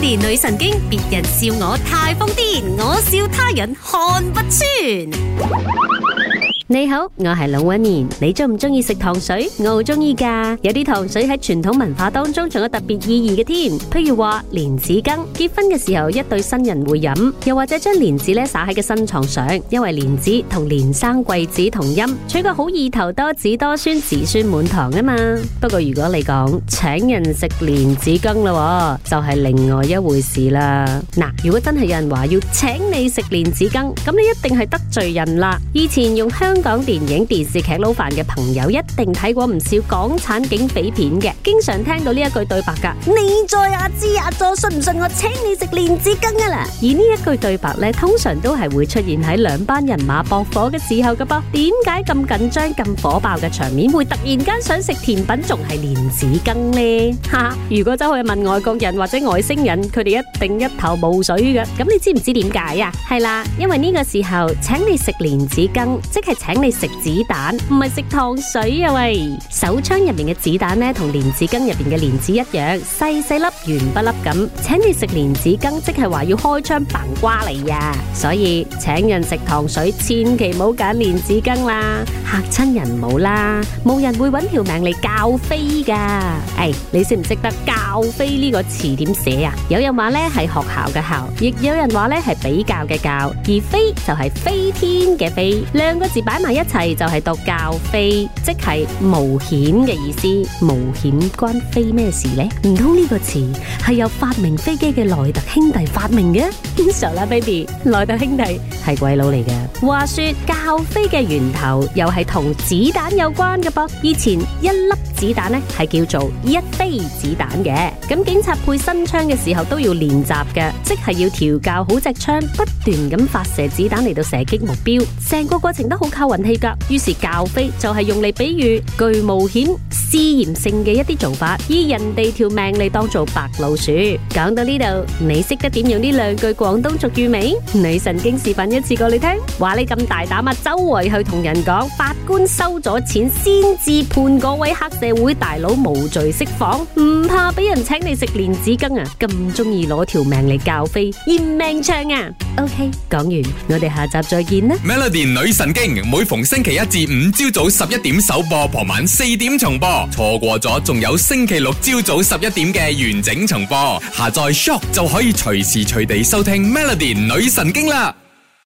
Melody 女神經，別人笑我太瘋癲，我笑他人看不穿。你好，我係龍紋敏。你中唔中意食糖水？我好中意噶。有啲糖水喺傳統文化當中仲有特別意義嘅添。譬如話蓮子羹，結婚嘅時候一對新人會飲，又或者將蓮子咧灑喺個新床上，因為蓮子同連生貴子同音，取個好意頭，多子多孫，子孫滿堂啊嘛。不過如果你講請人食蓮子羹啦，就係另外一回事啦。嗱，如果真係有人話要請你食蓮子羹，咁你一定係得罪人啦。以前用香港電影電視劇撈飯嘅朋友一定睇過唔少港產警匪片嘅，經常聽到呢一句對白噶。你再阿支阿佐，信唔信我請你食蓮子羹啊啦？而呢一句對白咧，通常都係會出現喺兩班人馬駁火嘅時候噶噃。點解咁緊張咁火爆嘅場面會突然間想食甜品仲係蓮子羹呢？哈！如果走去問外國人或者外星人，佢哋一定一頭霧水嘅。咁你知唔知點解啊？係啦，因為呢個時候請你食蓮子羹，即係請你食子彈，唔係食糖水啊喂！手槍入面嘅子彈呢，同蓮子羹入邊嘅蓮子一樣，細細粒圓不粒咁。請你食蓮子羹，即係話要開槍扮瓜嚟呀！所以請人食糖水，千祈唔好揀蓮子羹啦，嚇親人唔好啦，冇人會揾條命嚟教飛噶。你識唔識得教飛呢個詞點寫啊？有人話呢係學校嘅校，亦有人話呢係比較嘅較，而飛就係飛天嘅飛，兩個字擺埋一齊就係讀教飛，即係冒險嘅意思。冒險關飛咩事呢？唔通呢個詞係由發明飛機嘅萊特兄弟發明嘅？傻啦 baby， 萊特兄弟係鬼佬嚟嘅。話說教飛嘅源頭又係同子彈有關嘅噃。以前一粒子彈呢係叫做一飛子彈嘅。咁警察配新槍嘅時候都要練習嘅，即係要調教好隻槍，不斷咁發射子彈嚟到射擊目標，成個過程都好靠運氣噶。於是教飛就係用嚟比喻具冒險試驗性嘅一啲做法，以人哋條命嚟當做白老鼠。講到呢度，你識得點用呢兩句廣東俗語未？女神經示範一次過你聽。話你咁大膽啊，周圍去同人講法官收咗錢先至判嗰位黑社會大佬無罪釋放，唔怕俾人請你食蓮子羹啊？咁中意攞條命嚟教飛，嫌命長啊？OK， 講完，我哋下集再見啦。 Melody 女神經每逢星期一至五朝早11點首播，傍晚4點重播。錯過咗仲有星期六朝早11點嘅完整重播。下載 Shock 就可以隨時隨地收聽 Melody 女神經啦。